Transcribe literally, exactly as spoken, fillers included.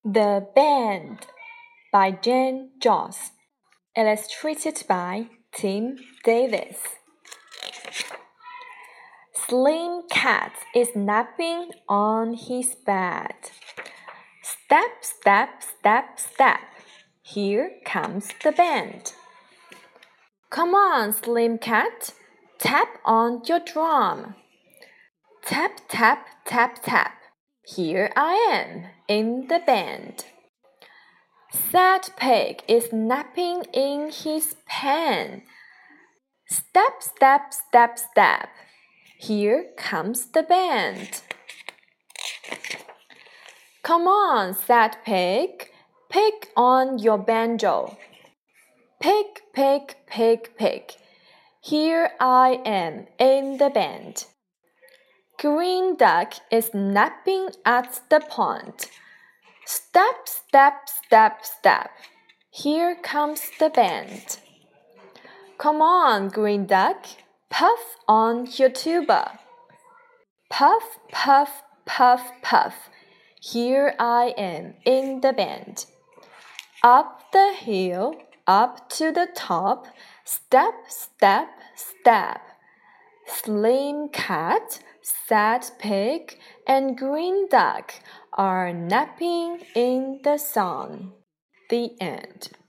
The Band by Jane Joss. Illustrated by Tim Davis. Slim Cat is napping on his bed. Step, step, step, step. Here comes the band. Come on, Slim Cat. Tap on your drum. Tap, tap, tap, tap. Here I am in the band. Sad Pig is napping in his pen. Step, step, step, step. Here comes the band. Come on, Sad Pig. Pick on your banjo. Pick, pick, pick, pick. Here I am in the band. Green Duck is napping at the pond. Step, step, step, step. Here comes the band. Come on, Green Duck. Puff on your tuba. Puff, puff, puff, puff. Here I am in the band. Up the hill, up to the top. Step, step, step. Slim Cat, Sad Pig, and Green Duck are napping in the sun. The end.